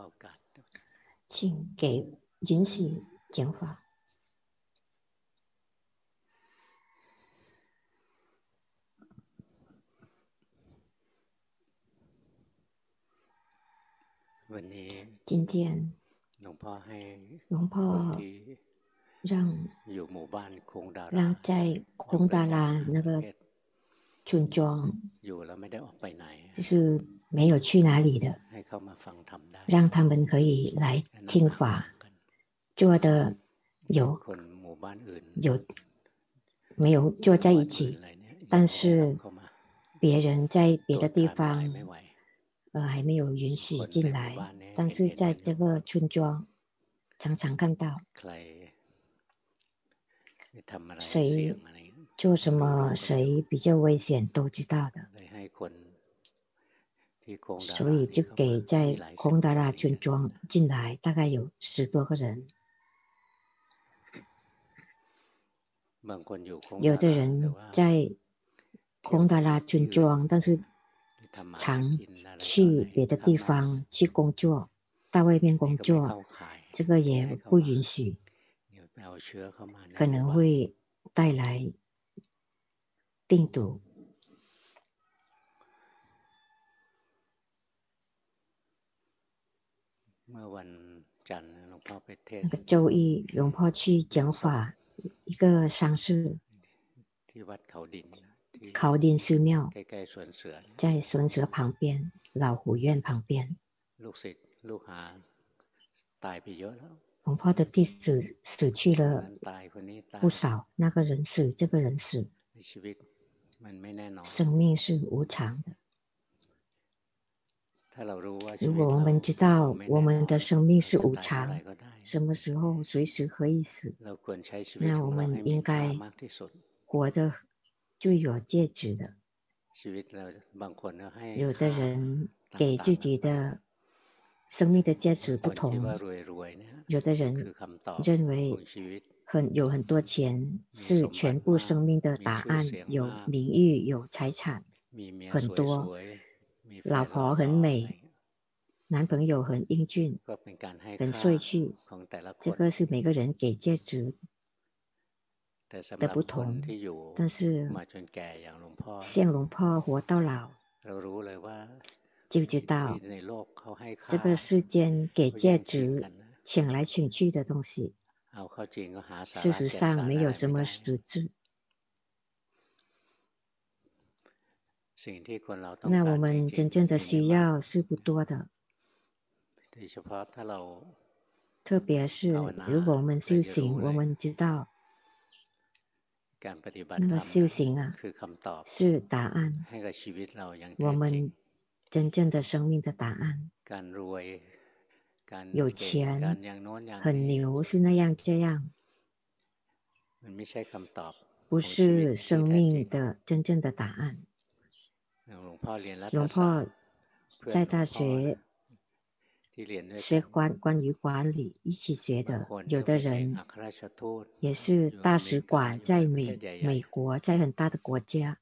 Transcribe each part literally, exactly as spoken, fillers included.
請給允許講法。今天龍婆讓讓在空達拉那個村莊，就是沒有去哪裡的，讓他們可以來聽法，坐的有有沒有坐在一起，但是別人在別的地方呃還沒有允許進來，但是在這個村莊常常看到誰做什麼，誰比較危險都知道的，所以就給在空達拉村莊進來，大概有十多個人。有的人在空達拉村莊，但是常去別的地方去工作，到外面工作，這個也不允許，可能會帶來病毒。那個週一，龍婆去講法，一個喪事，考丁寺廟，在孫蛇旁邊，老虎院旁邊。龍婆的弟子死去了不少，那個人死，這個人死，生命是無常的。如果我們知道我們的生命是無常，什麼時候隨時可以死，那我們應該活得最有價值的。有的人給自己的生命的價值不同，有的人認為很有很多錢是全部生命的答案，有名譽，有財產很多，老婆很美，男朋友很英俊，很帥氣，這個是每個人給價值的不同。但是像龍婆活到老，就知道這個世間給價值搶來搶去的東西，事實上沒有什麼實質。那我們真正的需要是不多的，特別是如果我們修行，我們知道那個修行啊是答案，我們真正的生命的答案。有錢很牛是那樣這樣，不是生命的真正的答案。龍婆在大學學關關於管理一起學的，有的人也是大使館，在美美國，在很大的國家，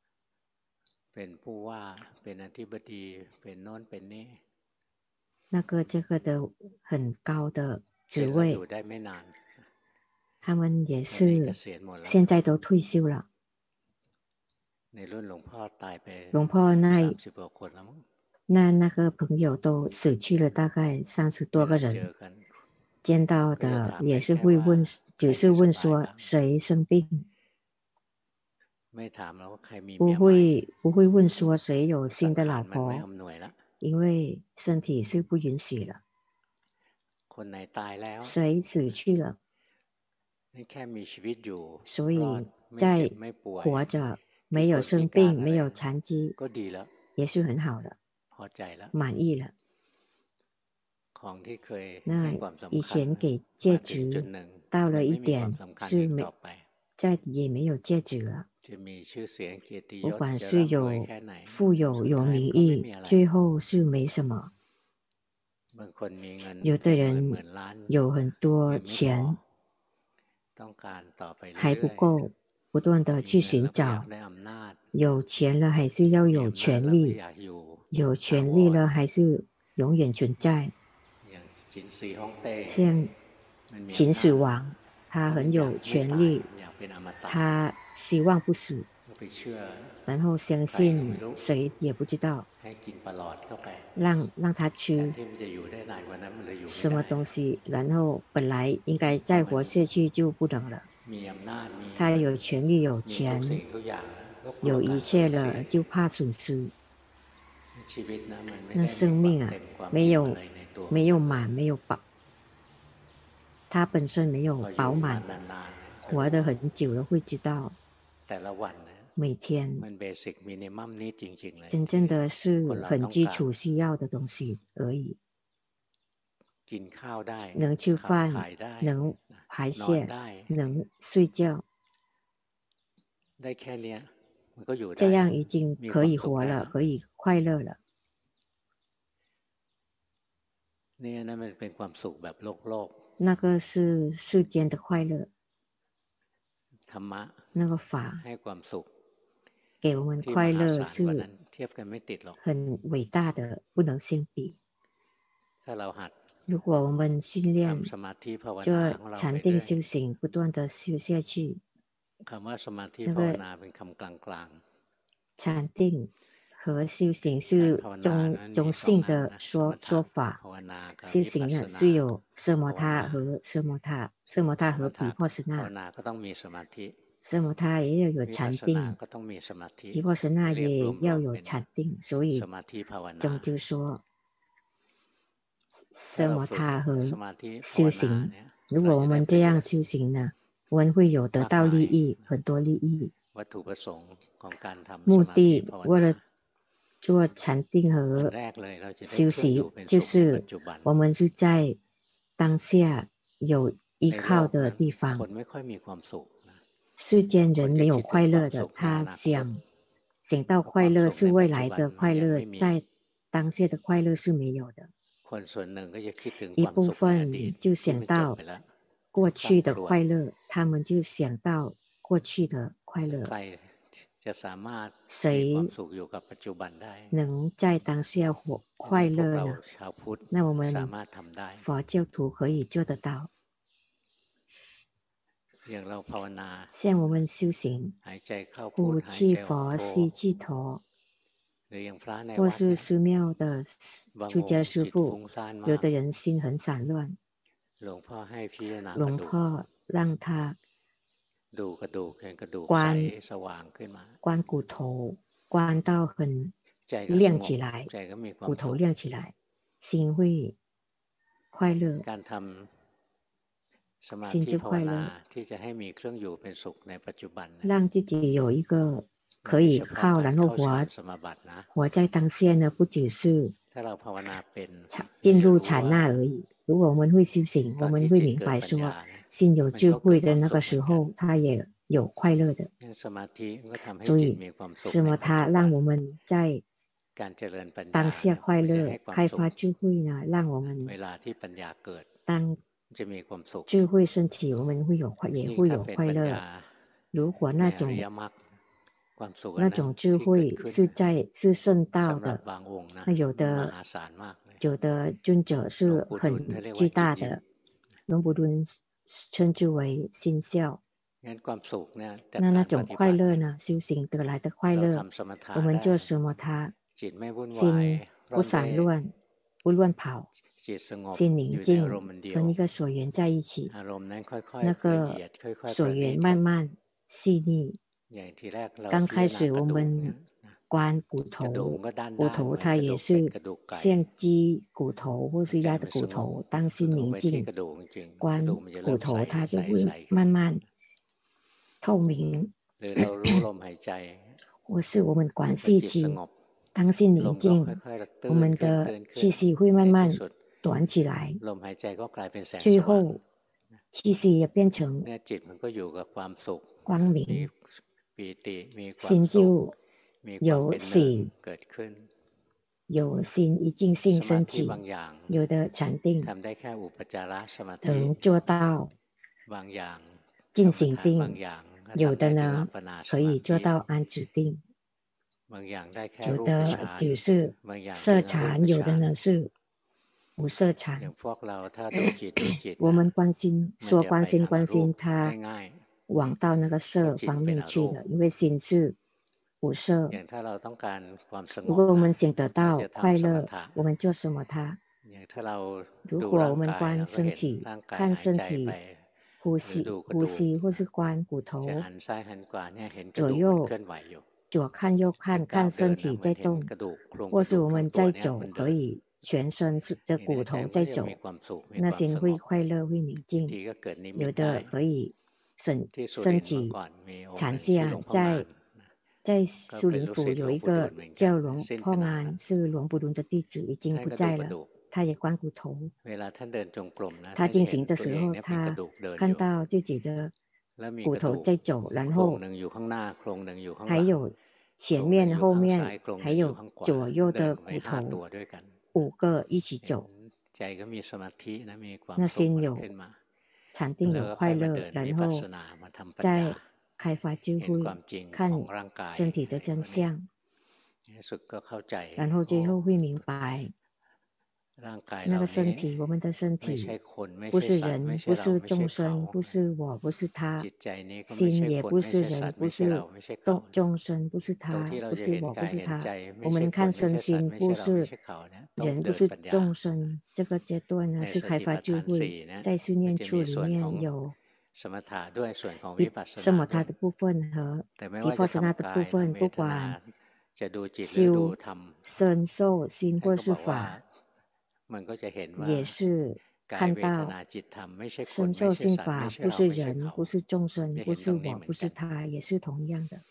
那個這個的很高的職位，他們也是現在都退休了。龍婆那那那個朋友都死去了，大概三十多個人，見到的也是會問，只是問說誰生病，不會不會問說誰有新的老婆，因為身體是不允許了。誰死去了，所以在活着沒有生病，沒有殘疾，也是很好的，滿意了。那以前給價值到了一點是沒，再也沒有價值了。不管是有富有有名譽，最後是沒什麼。有的人有很多錢，還不夠，不斷的去尋找。有錢了還是要有權利，有權利了還是永遠存在。 像秦始皇，他很有權力，他希望不死，然後相信誰也不知道，讓讓他吃什麼東西，然後本來應該再活下去就不能了。他有權力有錢，有一切了，就怕損失。那生命啊，沒有沒有滿，沒有飽，他本身沒有飽滿，活得很久了會知道，每天真正的是很基礎需要的東西而已。能吃飯，能排泄，能睡覺，這樣已經可以活了，可以快樂了。那個是世間的快樂，那個法給我們快樂是很偉大的，不能相比。如果我們訓練做禪定修行，不斷的修下去，那個禪定和修行是中中性的說說法。修行呢是有奢摩他和奢摩他，奢摩他和毗婆舍那。奢摩他也要有禪定，毗婆舍那也要有禪定，所以終究說奢摩他和修行，如果我們這樣修行呢，我們會有得到利益，很多利益。目的為了做禪定和修行，就是我們是在當下有依靠的地方。世間人沒有快樂的，他想想到快樂是未來的快樂，在當下的快樂是沒有的。一部分就想到過去的快樂，他們就想到過去的快樂。誰能在當下活快樂呢？那我們佛教徒可以做得到。像我們修行，呼氣佛，吸氣陀，或是寺廟的出家師父，有的人心很散亂，龍婆讓他觀觀骨頭，觀到很亮起來，骨頭亮起來，心會快樂，心就快樂，讓自己有一個可以靠，然後活活在當下呢，不只是進入禪那而已。如果我們會修行，我們會明白說，心有智慧的那個時候，他也有快樂的。所以奢摩他讓我們在當下快樂，開發智慧呢，讓我們當智慧升起，我們會有快，也會有快樂。如果那種那種智慧是在是聖道的，那有的有的尊者是很巨大的，龍布頓稱之為心笑。那那種快樂呢？修行得來的快樂，我們做奢摩他，心不散亂，不亂跑。心寧靜，跟一個所緣在一起，那個所緣慢慢細膩。剛開始我們觀骨頭，骨頭它也是像雞骨頭或是鴨的骨頭，當心寧靜，觀骨頭它就會慢慢透明。或是我們觀氣息，當心寧靜，我們的氣息會慢慢短起來，最後氣息也變成光明，心就有喜，有心一淨性升起。有的禪定能做到淨行定，有的呢可以做到安止定，有的只是色禪，有的呢是無色禪。我們關心說關心關心它往到那個色方面去的，因為心是無色。如果我們想得到快樂，我們做什麼它？如果我們觀身體，看身體呼吸呼吸，或是觀骨頭左右左看右看，看身體在動，或是我們在走，可以全身是這骨頭在走，那心會快樂會寧靜。有的可以身身體禪下，在在蘇林府有一個叫龍破安，是龍布倫的弟子，已經不在了。他也觀骨頭，他進行的時候，他看到自己的骨頭在走，然後還有前面後面還有左右的骨頭五個一起走，那心有禪定有快樂，然後再開發智慧，看身體的真相，然後最後會明白那個身體，我們的身體不是人，不是眾生，不是我，不是他，心也不是人，不是眾眾生，不是他，不是我，不是他。我們看身心不是人，不是眾生，這個階段呢是開發智慧，在四念處裡面有什麼他的部分和毗婆舍那的部分，不管修身受心或是法，也是看到身受心法不是人，不是眾生，不是我，不是他，也是同樣的。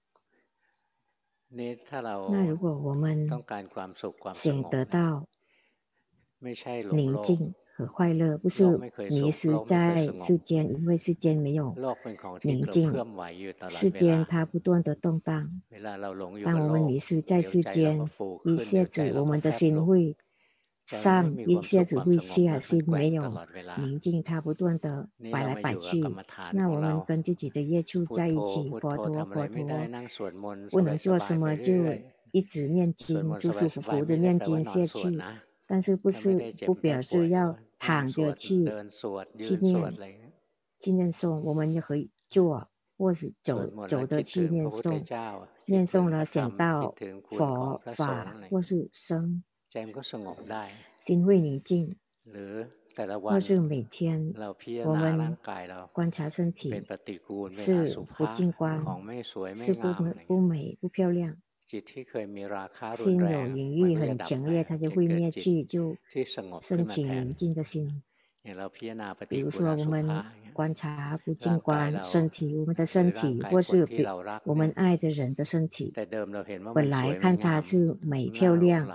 那如果我們想得到寧靜和快樂，不是迷失在世間，因為世間沒有寧靜，世間它不斷的動盪。當我們迷失在世間，一下子我們的心會上，一下子會下，心沒有寧靜，它不斷的擺來擺去。那我們跟自己的業處在一起，佛陀佛陀，不能做什麼就一直念經，舒舒服服的念經下去。但是不是不表示要躺着去去念去念誦，我們也可以坐或是走走的去念誦，念誦了想到佛法或是僧，心會寧靜。或是每天我們觀察身體是不淨觀，是不不美不漂亮，心有淫欲很強烈，它就會滅去，就升起寧靜的心。比如說我們觀察不淨觀身體，我們的身體或是我們愛的人的身體，本來看它是美漂亮，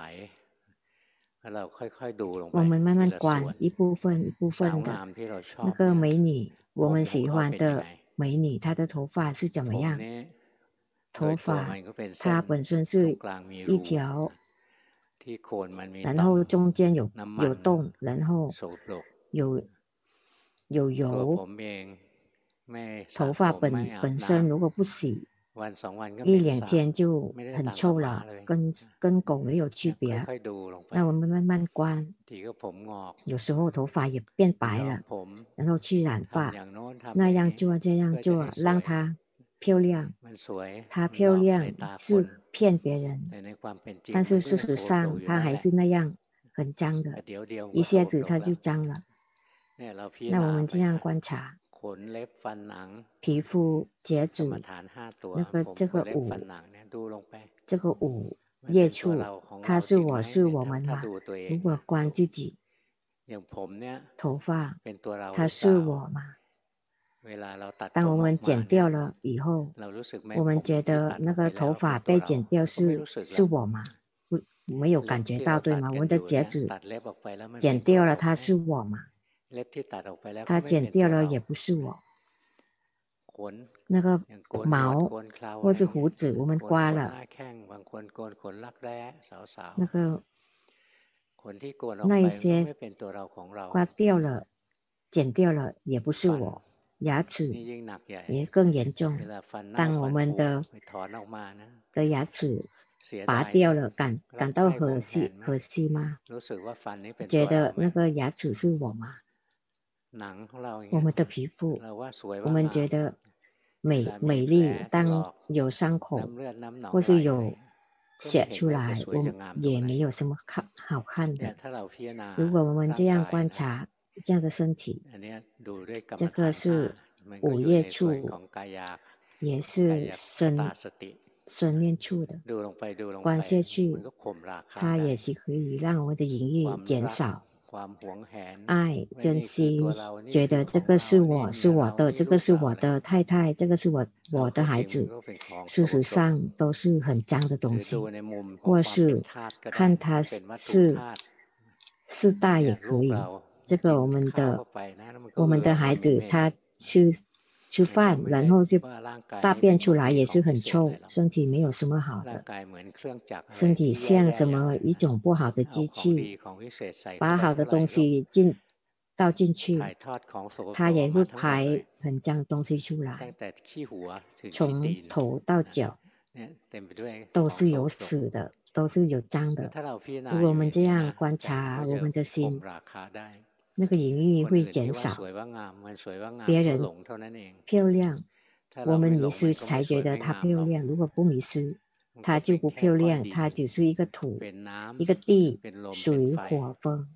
我們慢慢觀一部分一部分的那個美女，我們喜歡的美女，她的頭髮是怎麼樣？頭髮它本身是一條，然後中間有有洞，然後有有油。頭髮本本身如果不洗，一兩天就很臭了，跟跟狗沒有區別。那我們慢慢觀，有時候頭髮也變白了，然後去染髮，那樣做這樣做，讓它漂亮。它漂亮是騙別人，但是事實上它還是那樣很髒的，一下子它就髒了。那我們這樣觀察。皮膚、睫子，那個這個五，這個五業處，它是我是我們嘛？如果觀自己，頭髮，它是我嘛？當我們剪掉了以後，我們覺得那個頭髮被剪掉是是我嘛？不，沒有感覺到對嗎？我們的睫子剪掉了，它是我嘛？它剪掉了也不是我。那個毛或是鬍子，我們刮了，那個那一些刮掉了、剪掉了，也不是我。牙齒也更嚴重。當我們的的牙齒拔掉了，感感到可惜可惜嗎？覺得那個牙齒是我嗎？我們的皮膚，我們覺得美美麗，當有傷口或是有血出來，我們也沒有什麼好好看的。如果我們這樣觀察這樣的身體，這個是五業處，也是身身念處的，觀下去，它也是可以讓我們的淫慾減少。愛、珍惜，覺得這個是我是我的，這個是我的太太，這個是我我的孩子，事實上都是很髒的東西，或是看它是四大也可以。這個我們的我們的孩子他吃吃飯，然後就大便出來也是很臭，身體沒有什麼好的，身體像什麼一種不好的機器，把好的東西進倒進去，它也會排很髒東西出來，從頭到腳都是有屎的，都是有髒的。如果我們這樣觀察我們的心，那個淫慾會減少，別人漂亮，我們迷失才覺得她漂亮，如果不迷失，她就不漂亮，她只是一個土，一個地，水火風。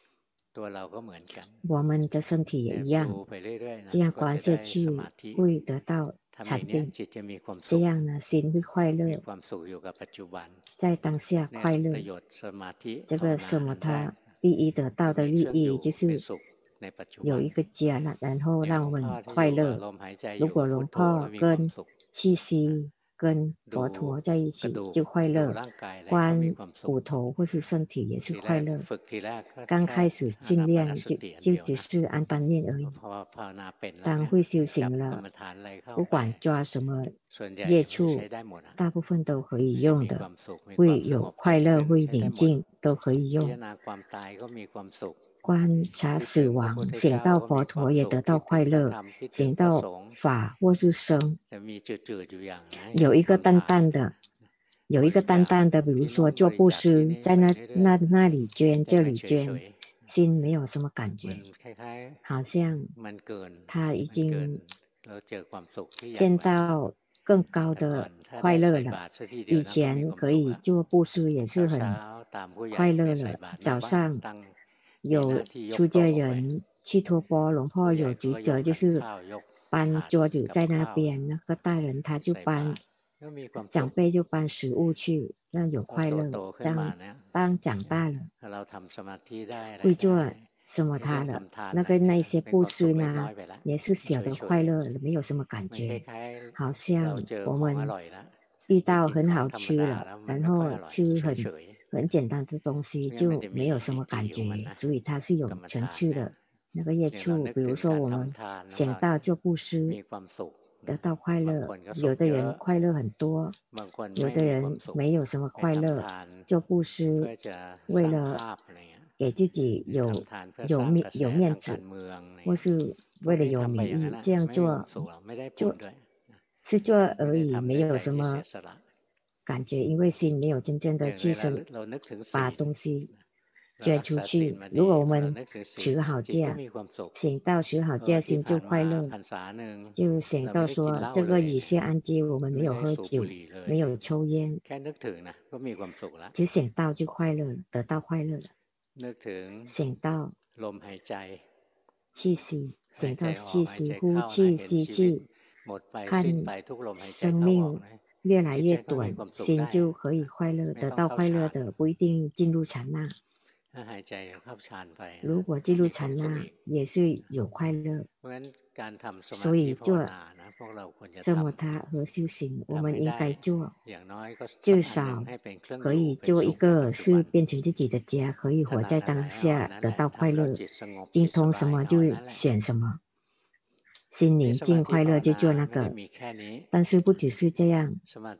我們的身體也一樣，這樣觀下去會得到禪定，這樣呢，心會快樂，在當下快樂。這個什麼他第一得到的利益就是有一個家了，然後讓我們快樂。如果龍婆跟氣息跟佛陀在一起就快樂，觀骨頭或是身體也是快樂。剛開始訓練就就只是安般念而已，當會修行了，不管抓什麼業處，大部分都可以用的，會有快樂，會寧靜，都可以用。觀察死亡，想到佛陀也得到快樂，想到法或是僧，有一個淡淡的，有一個淡淡的，比如說做布施，在那那那裡捐，這裡捐，心沒有什麼感覺，好像他已經見到更高的快樂了。以前可以做布施也是很快樂了，早上有出家人去托缽，龍婆有職責就是搬桌子在那邊，那個大人他就搬，長輩就搬食物去，那有快樂。這樣當長大了會做什麼他了，那個那些布施呢也是小的快樂，沒有什麼感覺，好像我們遇到很好吃了，然後吃很很簡單的東西就沒有什麼感覺，所以它是有層次的那個業處。比如說我們想到做布施得到快樂，有的人快樂很多，有的人沒有什麼快樂。做布施為了給自己有有面有面子，或是為了有名譽，這樣做做是做而已，沒有什麼感覺，因為心沒有真正的犧牲，把東西捐出去。如果我們持好戒，想到持好戒，心就快樂，就想到說這個以下安居，我們沒有喝酒，沒有抽煙，只想到就快樂，得到快樂了。想到氣息，想到氣息，呼氣吸氣，看生命越來越短，心就可以快樂，得到快樂的，不一定進入禪那。如果進入禪那也是有快樂，所以做奢摩他和修行，我們應該做，至少可以做一個是變成自己的家，可以活在當下，得到快樂，精通什麼就選什麼，心寧靜快樂就做那個。但是不只是這樣，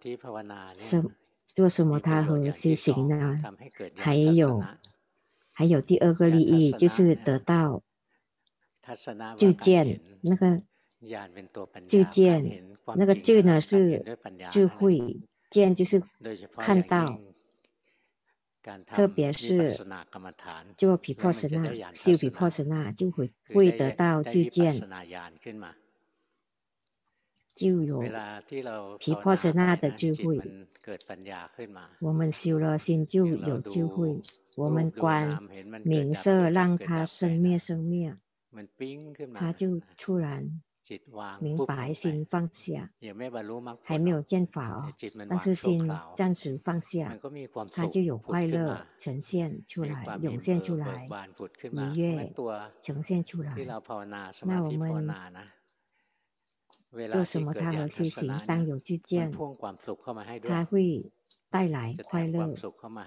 做奢摩他和修行呢，還有還有第二個利益，就是得到智見。那個智見，那個智呢是智慧， 見就是看到，特別是做毗婆舍那修毗婆舍那就會會得到知見，就有毗婆舍那的智慧。我們修了心就有智慧。我們觀名色讓它生滅生滅，它就突然明白心放下，還沒有見法哦，但是心暫時放下，它就有快樂呈現出來，湧現出來，愉悅呈現出來。那我們做什麼他和修行，當有知見，它會帶來快樂。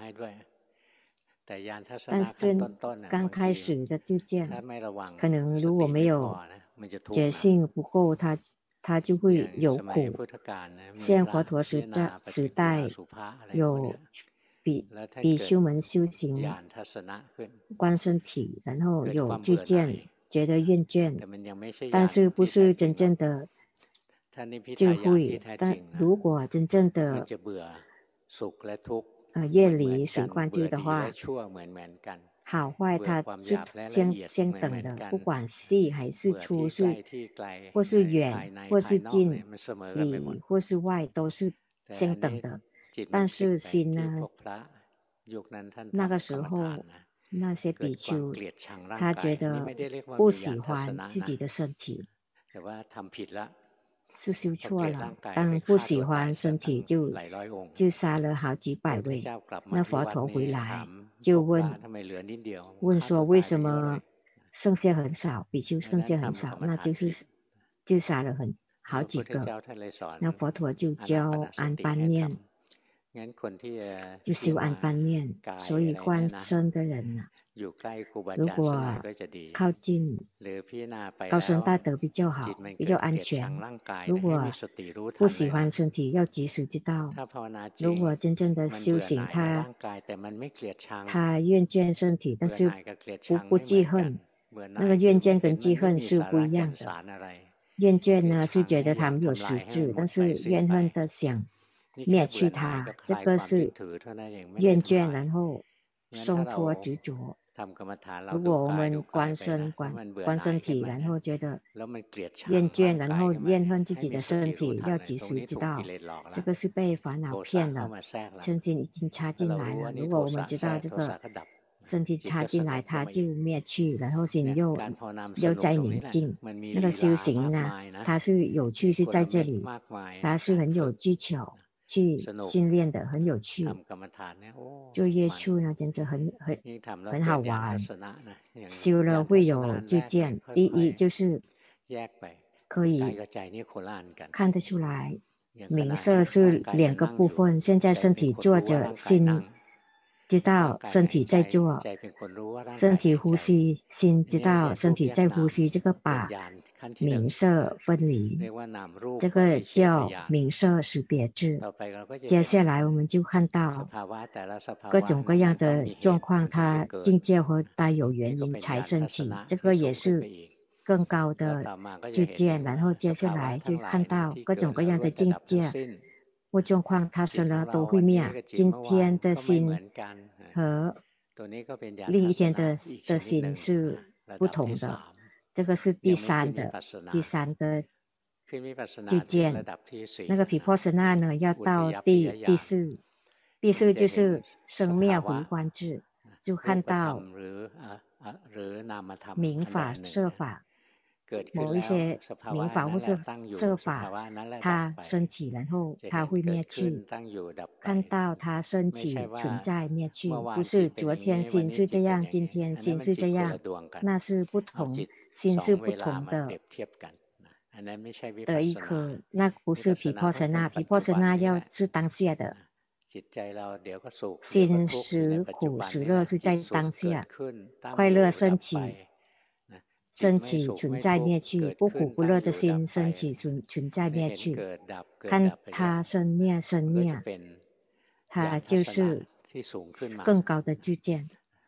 但是剛開始的知見，可能如果沒有覺性不夠，它它就會有苦。像佛陀時代時代有比比丘們修行觀身體，然後有知見，覺得厭倦，但是不是真正的智慧。但如果真正的呃，業離隨觀智的話，好壞它是相相等的，不管細還是粗，是或是遠或是近，裡或是外都是相等的。但是心呢，那個時候那些比丘他覺得不喜歡自己的身體，是修錯了。當不喜歡身體就就殺了好幾百位。那佛陀回來就問問說，為什麼剩下很少，比丘剩下很少，那就是就殺了很好幾個。那佛陀就教安般念，就修安般念。所以觀身的人啊，如果靠近高僧大德比較好，比較安全。如果不喜歡身體，要及時知道。如果真正的修行，他他厭倦身體，但是不不記恨。那個厭倦跟記恨是不一樣的。厭倦呢是覺得他沒有實質，但是怨恨的想滅去它，這個是厭倦，然後鬆脫執着。如果我們觀身觀觀身體，然後覺得厭倦，然後厭恨自己的身體，要及時知道，這個是被煩惱騙了，嗔心已經插進來了。如果我們知道這個身體插進來，它就滅去，然後心又又在寧靜。那個修行呢，它是有趣是在這裡，它是很有技巧去訓練的，很有趣。做業處呢，真的很很很好玩。修了會有知見，第一就是可以看得出來，名色是兩個部分。現在身體坐着，心知道身體在做，身體呼吸，心知道身體在呼吸，這個把名色分離，這個叫名色識別智。接下來我們就看到各種各樣的狀況，它境界和帶有原因才升起，這個也是更高的知見。然後接下來就看到各種各樣的境界或狀況，它生了都會滅。今天的心和另一天的的心是不同的，這個是第三的第三的知見。那個毗婆舍那呢，要到第第四，第四就是生滅回觀智，就看到名法色法，某一些名法或是色法，它升起，然後它會滅去。看到它升起、存在、滅去，不是昨天心是這樣，今天心是這樣，那是不同，心是不同的的一顆，那不是毗婆舍那。毗婆舍那要是當下的。心時苦時樂是在當下，快樂升起。升起存在滅去，不苦不樂的心升起存存在滅去，看它生滅生滅，它就是更高的知見，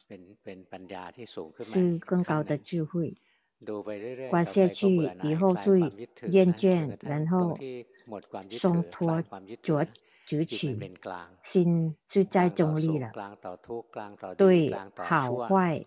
是更高的智慧。觀下去以後最厭倦，然後鬆脫着執取，心是在中立了，對好壞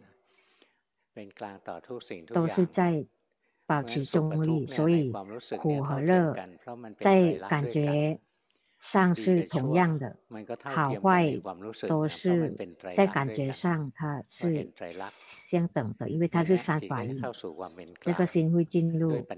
都是在保持中立，所以苦和樂在感覺上是同樣的，好壞都是在感覺上它是相等的，因為它是三法印，這個心會進入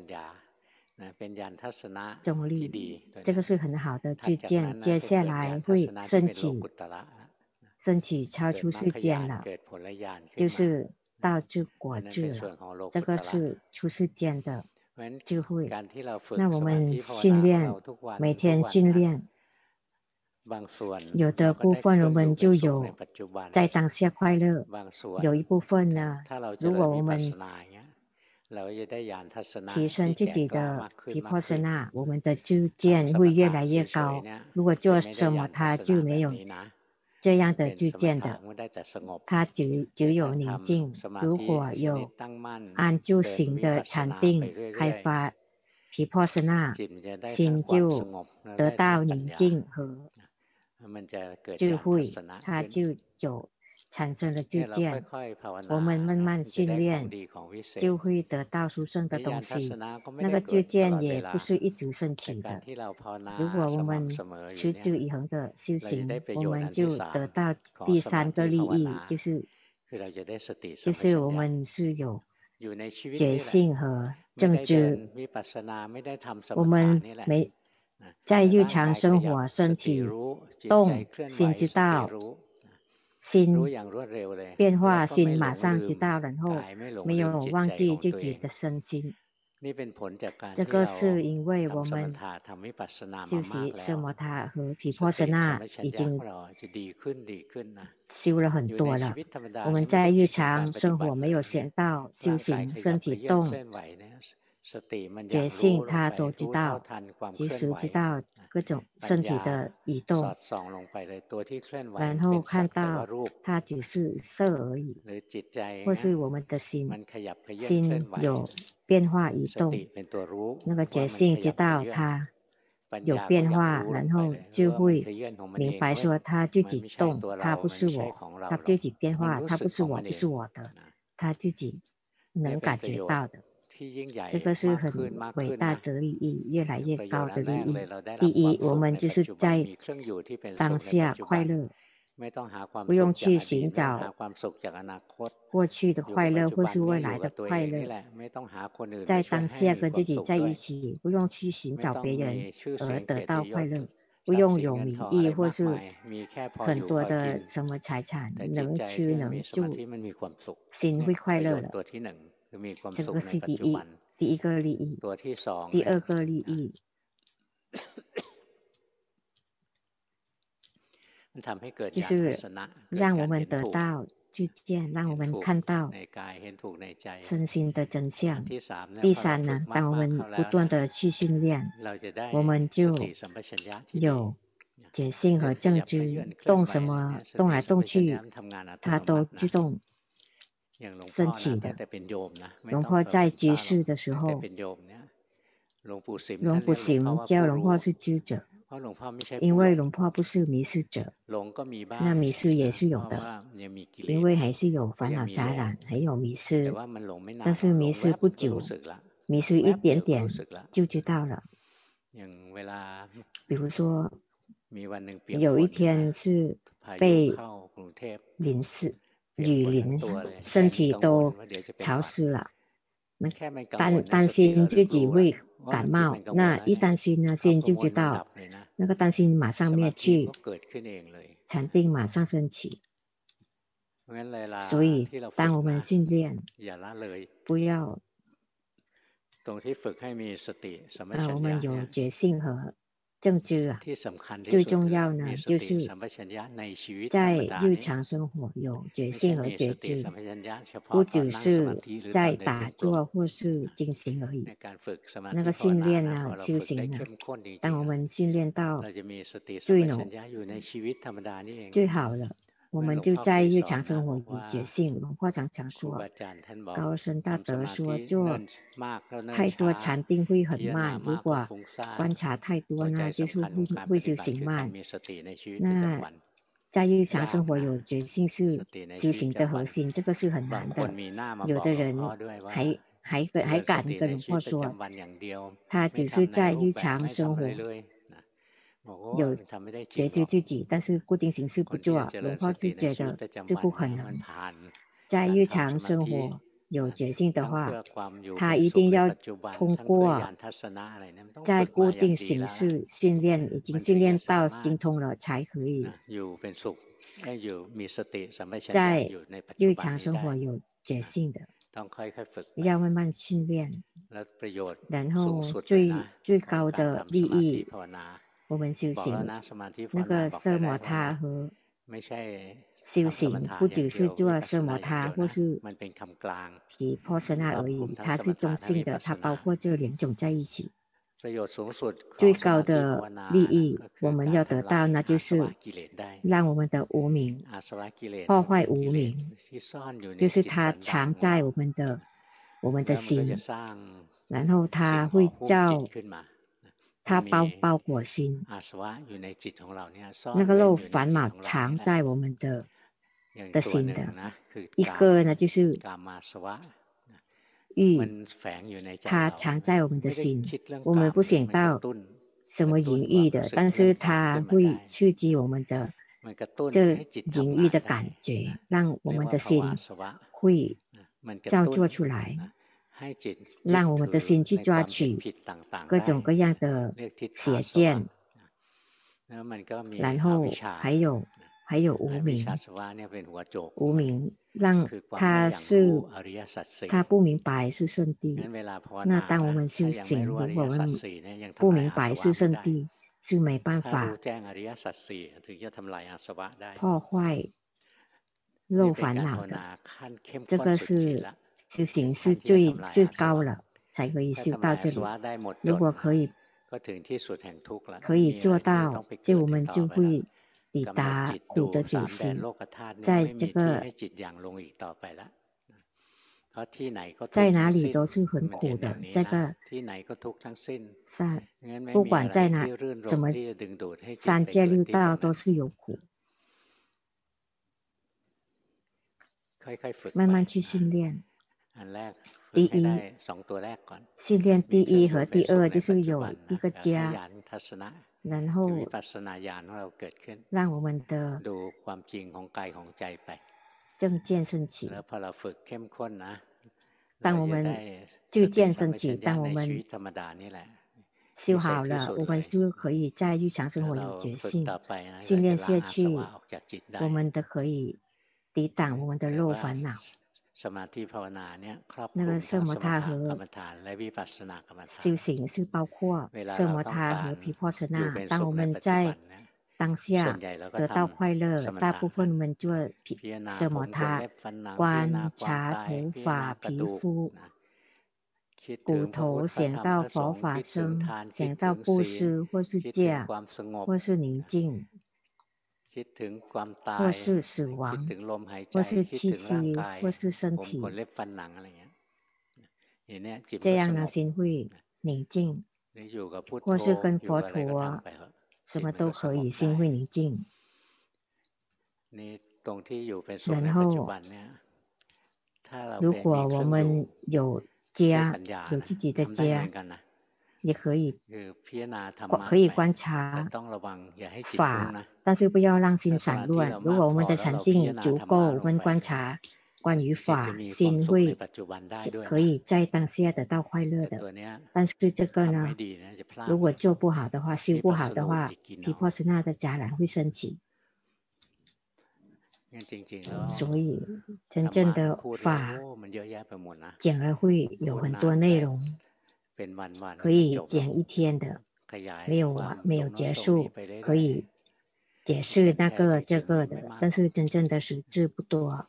中立，這個是很好的知見，接下來會升起升起超出世間了，就是道智果智了，這個是出世間的智慧。那我們訓練，每天訓練，有的部分我們就有在當下快樂，有一部分呢，如果我們提升自己的毗婆舍那，我們的知見會越來越高。如果做什麼他就沒有這樣的知見的，他只只有寧靜。如果有安住行的禪定開發毗婆舍那，心就得到寧靜和智慧，他就有產生了知見。我們慢慢訓練，就會得到殊勝的東西。那個知見也不是一直升起的。如果我們持之以恆的修行，我們就得到第三個利益，就是就是我們是有覺性和正知。我們沒在日常生活，身體動，心知道。心變化，心馬上知道，然後沒有忘記自己的身心。這個是因為我們修習奢摩他和毗婆舍那已經修了很多了。我們在日常生活沒有想到修行，身體動，覺性他都知道，及時知道各種身體的移動，然後看到它只是色而已，或是我們的心，心有變化移動，那個覺性知道它有變化，然後就會明白說它自己動，它不是我，它自己變化，它不是我，不是我的，它自己能感覺到的。這個是很偉大的利益，越來越高的利益。第一，我們就是在當下快樂，不用去尋找過去的快樂或是未來的快樂，在當下跟自己在一起，不用去尋找別人而得到快樂，不用有名義或是很多的什麼財產，能吃能住，心會快樂了。這個是第一，第一個利益。第二個利益，就是讓我們得到知見，讓我們看到身心的真相。第三呢，當我們不斷的去訓練，我們就有覺性和正知，動什麼動來動去，它都自動升起的。龍婆在居士的時候，龍普行教龍婆是知者，因為龍婆不是迷失者，那迷失也是有的，因為還是有煩惱雜染，還有迷失，但是迷失不久，迷失一點點就知道了。比如說，有一天是被淋濕。雨淋，身體都潮濕了，那擔擔心自己會感冒，那一擔心呢，心就知道，那個擔心馬上滅去，禪定馬上升起。所以，當我們訓練，不要，啊，我們有覺性和正知啊，最重要呢，就是在日常生活有覺性和覺知，不只是在打坐或是進行而已。那個訓練呢，修行呢，當我們訓練到最濃、最好了， 我們就在日常生活有覺性。龍婆常常說，高僧大德說，做太多禪定會很慢，如果觀察太多呢，就是會會修行慢。那在日常生活有覺性是修行的核心，這個是很難的。有的人還還還敢跟龍婆說，他只是在日常生活有覺知自己，但是固定形式不做。龍婆就覺得這不可能。在日常生活有覺性的話，他一定要通過在固定形式訓練，已經訓練到精通了，才可以在日常生活有覺性的。要慢慢訓練，然後最最高的利益，我們修行那個奢摩他和修行，不只是做奢摩他或是毗婆舍那而已，它是中性的，它包括這兩種在一起。最高的利益我們要得到，那就是讓我們的無明破壞無明，就是它藏在我們的我們的心，然後它會造它包包裹心，那個漏煩惱藏在我們的的心的。一個呢就是欲，它藏在我們的心，我們不想到什麼淫欲的，但是它會刺激我們的這淫欲的感覺，讓我們的心會造作出來，讓我們的心去抓取各種各樣的邪見，然後還有還有無明，無明讓他是他不明白是聖諦。那當我們修行，如果我們不明白是聖諦，是沒辦法破壞漏煩惱的。這個是修行是最最高了，才可以修到這裡。如果可以可以做到，就我們就會抵達苦的究竟，在這個在哪裡都是很苦的。這個三不管在哪什麼三界六道都是有苦，慢慢去訓練。第一，訓練第一和第二就是有一個家，然後讓我們的正見升起。當我們正見升起，當我們修好了，我們就可以在日常生活有覺性。訓練下去，我們都可以抵擋我們的漏煩惱。那個奢摩他和修行是包括奢摩他和毗婆舍那。當我們在當下得到快樂，大部分我們做奢摩他，觀察頭髮、皮膚、骨頭，想到佛法僧，想到布施，或是戒，或是寧靜，或是死亡，或是氣息，或是身體，這樣呢，心會寧靜，或是跟佛陀什麼都可以，心會寧靜。然後，如果我們有家，有自己的家，也可以可以觀察法，但是不要讓心散亂。如果我們的禪定足夠，我們觀察關於法，心會可以在當下得到快樂的。但是這個呢，如果做不好的話，修不好的話，毗婆舍那的雜染會升起。所以真正的法講了會有很多內容，可以講一天的，沒有完，沒有結束，可以解釋那個這個的，但是真正的實質不多。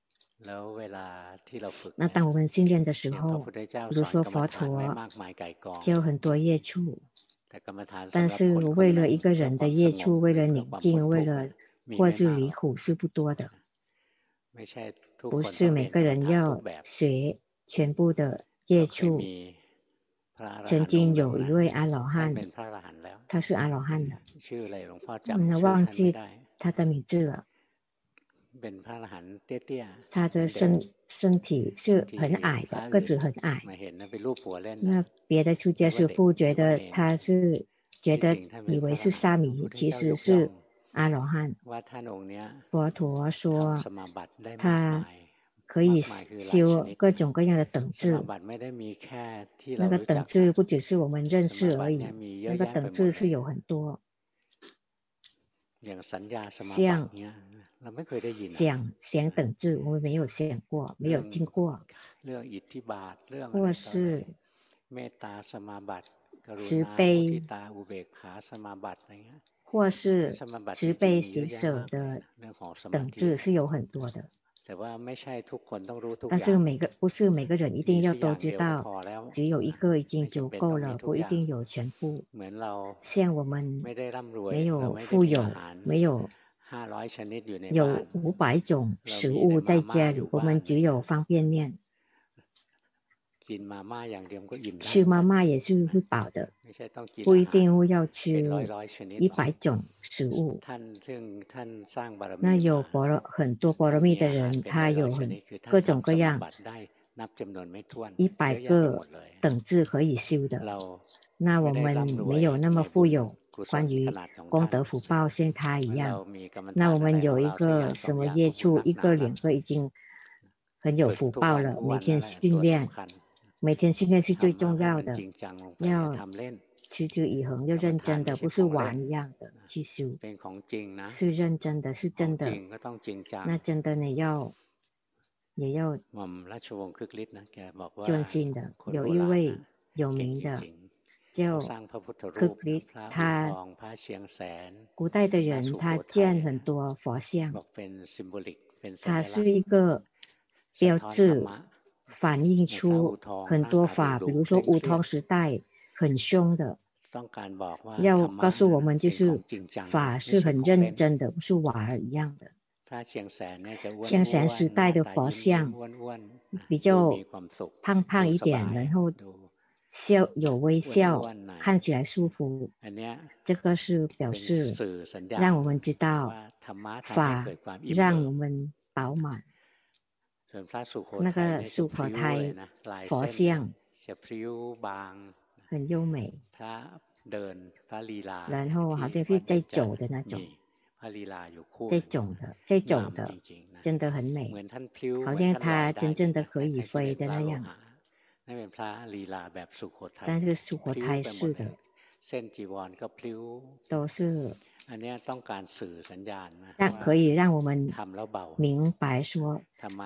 那當我們訓練的時候，比如說佛陀教很多業處，但是為了一個人的業處，為了寧靜，為了或是離苦是不多的。不是每個人要學全部的接觸。曾經有一位阿羅漢，他是阿羅漢的，那忘記他的名字了。他的身身體是很矮的，個子很矮。那別的出家師父覺得他是覺得以為是沙彌，其實是阿羅漢。佛陀說他可以修各種各樣的等次，那個等次不只是我們認識而已，那個等次是有很多。像想想等次，我們沒有想過，沒有聽過。或是慈悲，或是慈悲喜捨的等次是有很多的。但是每個不是每個人一定要都知道，只有一個已經足夠了，不一定有全部。像我們沒有富有，沒有有五百種食物在家裡，我們只有方便麵。吃媽媽也是會飽的，不一定會要吃一百種食物。那有般若很多般若蜜的人，他有很各種各樣一百個等次可以修的。那我們沒有那麼富有，關於功德福報像他一樣。那我們有一個什麼業處，一個兩個已經很有福報了，每天訓練。每天訓練是最重要的，要持之以恆，要認真的，不是玩一樣的去修，是認真的，是真的。那真的你要也要專心的。有一位有名的叫柯克里，他古代的人，他建很多佛像，他是一個標誌。反映出很多法，比如說烏通時代很凶的，要告訴我們就是法是很認真的，不是玩兒一樣的。象山時代的佛像比較胖胖一點，然後笑有微笑，看起來舒服。這個是表示讓我們知道法讓我們飽滿。那個素婆胎佛像很優美，然後好像是在走的那種，在走的，在走的，真的很美，好像他真正的可以飛的那樣。但是素婆胎是的，都是讓可以讓我們明白說，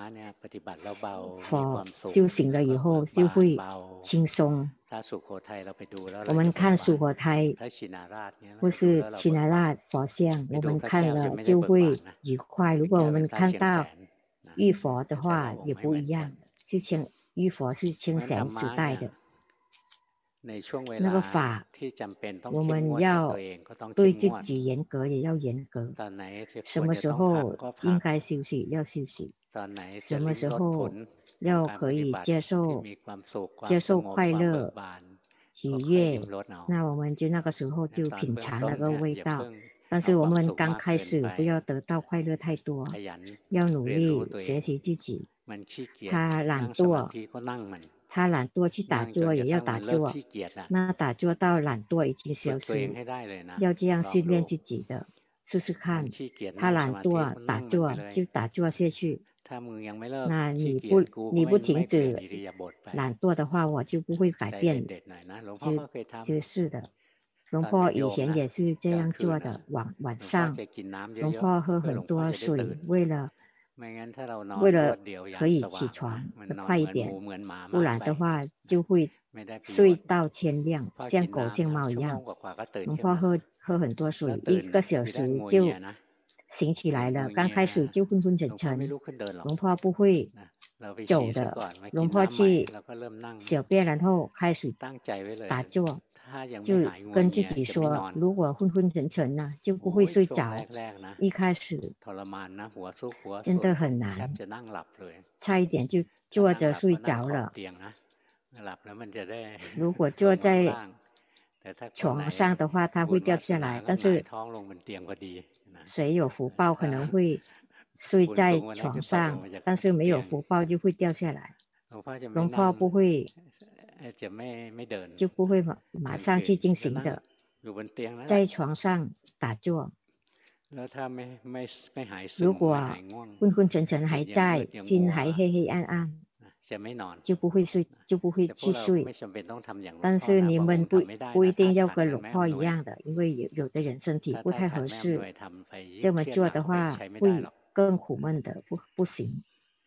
佛修行了以後就會輕鬆。我們看素婆胎或是沁那拉佛像，我們看了就會愉快。如果我們看到玉佛的話，也不一樣。是清玉佛是清祥時代的。那個法，我們要對自己嚴格，也要嚴格。什麼時候應該休息，要休息；什麼時候要可以接受接受快樂、愉悅，那我們就那個時候就品嘗那個味道。但是我們剛開始不要得到快樂太多，要努力學習自己。他懶惰。他懶惰去打坐也要打坐，那打坐到懶惰已經消失，要這樣訓練自己的，試試看。他懶惰打坐就打坐下去，那你不你不停止懶惰的話，我就不會改變，就就是的。龍婆以前也是這樣做的，晚晚上龍婆喝很多水，為了。為了可以起床的快一點，不然的話就會睡到天亮，像狗像貓一樣。龍婆喝喝很多水，一個小時就醒起來了，剛開始就昏昏沉沉，龍婆不會走的，龍婆去小便，然後開始打坐，就跟自己說，如果昏昏沉沉呢，就不會睡着。一開始真的很難，差一點就坐着睡着了。如果坐在床上的話，它會掉下來。但是誰有福報可能會睡在床上，但是沒有福報就會掉下來。龍婆不會，就不會馬馬上去進行的，在床上打坐。如果昏昏沉沉還在，心還黑黑暗暗，就不會睡，就不會去睡。但是你們不不一定要跟龍婆一樣的，因為有有的人身體不太合適，這麼做的話會更苦悶的，不不行。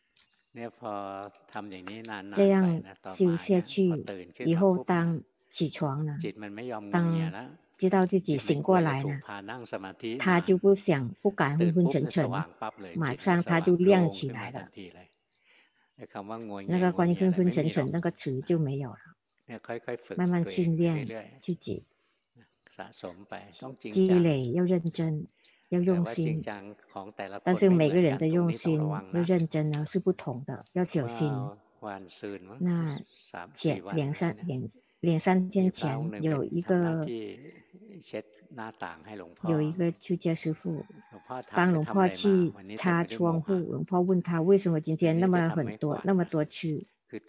這樣修下去以後，當起床了，當知道自己醒過來了，他就不想不敢昏昏沉沉，馬上他就亮起來了。那個關於昏昏沉沉那個詞就沒有了。慢慢訓練自己，積累要認真，要用心。但是每個人的用心要認真呢是不同的，要小心。那前兩三兩兩三天前有一個有一個出家師父幫龍婆去擦窗戶，龍婆問他為什麼今天那麼很多那麼多蛆？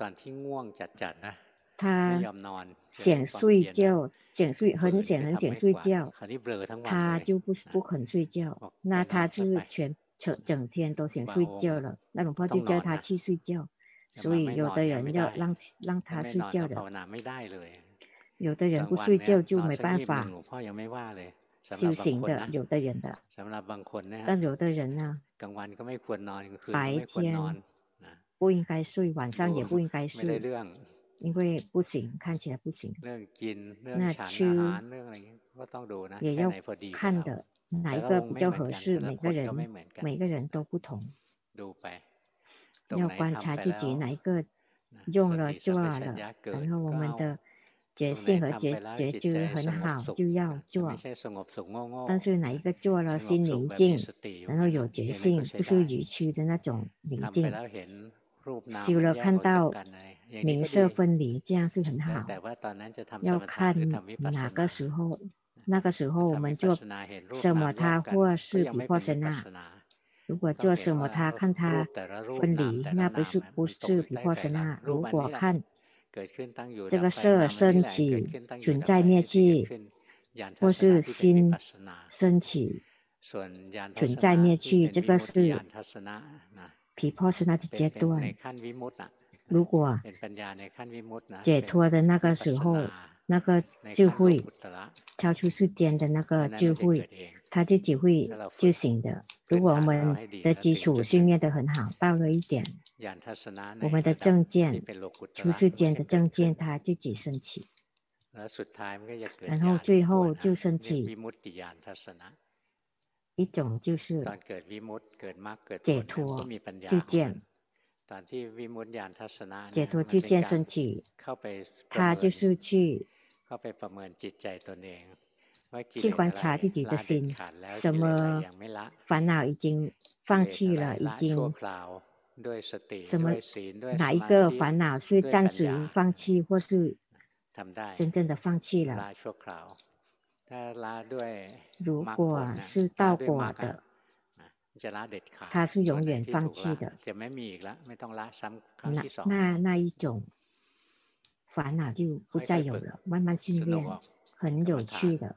他想睡覺，想睡很想很想睡覺，他就不不肯睡覺，那他就是全整整天都想睡覺了，那龍婆就叫他去睡覺。所以有的人要讓讓他睡覺的，有的人不睡覺就沒辦法修行的，有的人的，但有的人呢，白天不應該睡，晚上也不應該睡，因為不行，看起來不行。那吃也要看的，哪一個比較合適，每個人每個人都不同。要觀察自己哪一個用了做了，然後我們的覺性和覺覺知很好，就要做。但是哪一個做了心寧靜，然後有覺性，不是愚痴的那種寧靜，修了看到名色分離，這樣是很好。要看哪個時候，那個時候我們做什麼他或是毗婆舍那。如果做什麼他看他分離，那不是不是毗婆舍那。如果看這個色升起存在滅去，或是心升起存在滅去，這個是毗婆舍那的階段。如果解脫的那個時候，那個智慧超出世間的那個智慧，他自己會自行的。如果我們的基礎訓練得很好，到了一點，我們的正見出世間的正見他自己升起，然後最後就升起一種就是解脫智見。解脫智見升起，他就是去去觀察自己的心，什麼煩惱已經放棄了，已經什麼哪一個煩惱是暫時放棄，或是真正的放棄了。如果是道果的，他是永遠放棄的，那那那一種煩惱就不再有了。慢慢訓練，很有趣的，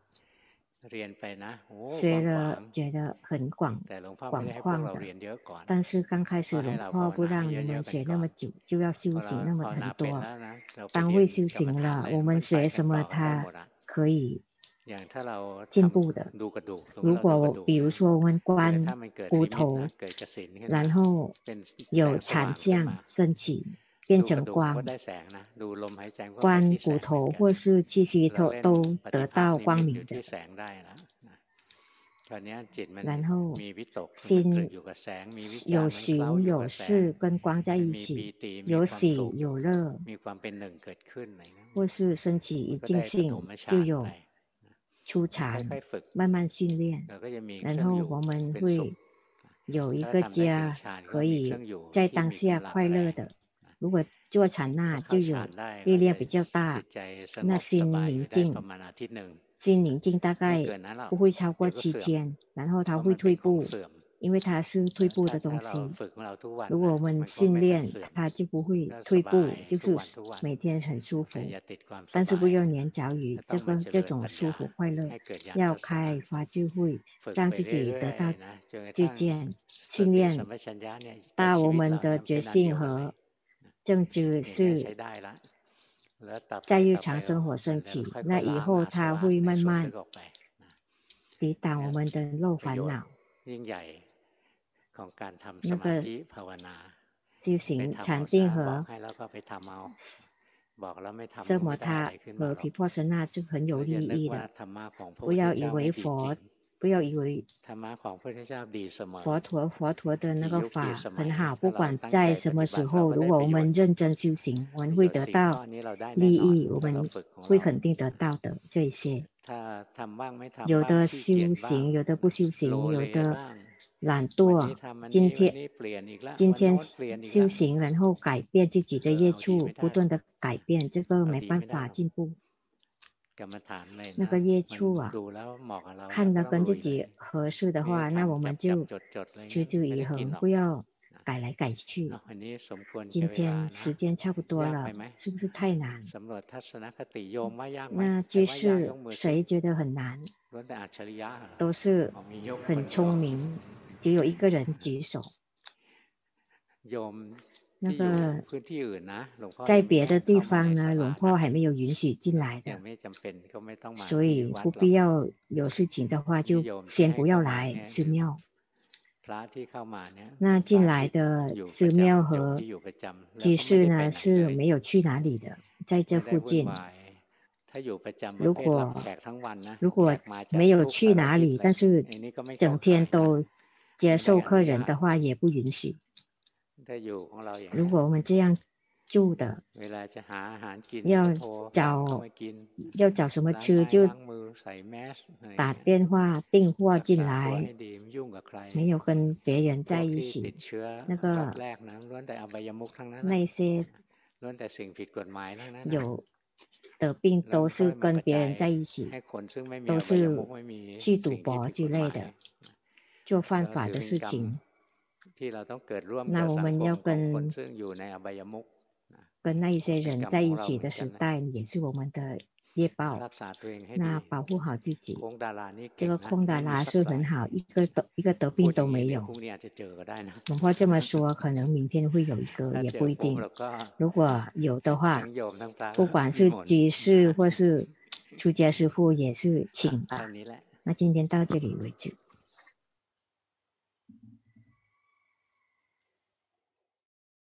學了覺得很廣廣曠的。但是剛開始龍婆不讓你們學那麼久，就要修行那麼很多。當會修行了，我們學什麼它可以進步的。如果我比如說我們觀骨頭，然後有產相升起變成光，觀骨頭或是氣息都都得到光明的。 然後心有尋有識，跟光在一起，有喜有樂，或是升起一境性，就有初禪，慢慢訓練，然後我們會有一個家，可以在當下快樂的。如果做禪那就有力量比較大，那心寧靜。心寧靜大概不會超過七天，然後它會退步，因為它是退步的東西。如果我們訓練，它就不會退步，就是每天很舒服。但是不要黏着於這個這種舒服快樂，要開發智慧，讓自己得到知見，訓練到我們的覺性和正知是在日常生活升起，那以後它會慢慢抵擋我們的漏煩惱。那個修行禪定和奢摩他和毗婆舍那是很有利益的。不要以為佛，不要以為佛陀佛陀的那個法很好，不管在什麼時候，如果我們認真修行，我們會得到利益，我們會肯定得到的這一些。有的修行，有的不修行，有的懶惰。今天今天修行，然後改變自己的業處，不斷的改變，這個沒辦法進步。那個業處啊，看了跟自己合適的話，那我們就持之以恆，不要改來改去。今天時間差不多了，是不是太難？那居士誰覺得很難？都是很聰明，只有一個人舉手。那個在別的地方呢，龍婆還沒有允許進來的，所以不必要有事情的話，就先不要來寺廟。那進來的寺廟和居士呢是沒有去哪裡的，在這附近。如果如果沒有去哪裡，但是整天都接受客人的話，也不允許。如果我們這樣住的，要找要找什麼吃，就打電話訂貨進來，沒有跟別人在一起。那個那些有的病都是跟別人在一起，都是去賭博之類的，做犯法的事情。那我們要跟跟那一些人在一起的時代，也是我們的業報。那保護好自己。這個空達拉是很好，一個得一個得病都沒有。龍婆這麼說，可能明天會有一個，也不一定。如果有的話，不管是居士或是出家師父，也是請吧。那今天到這裡為止。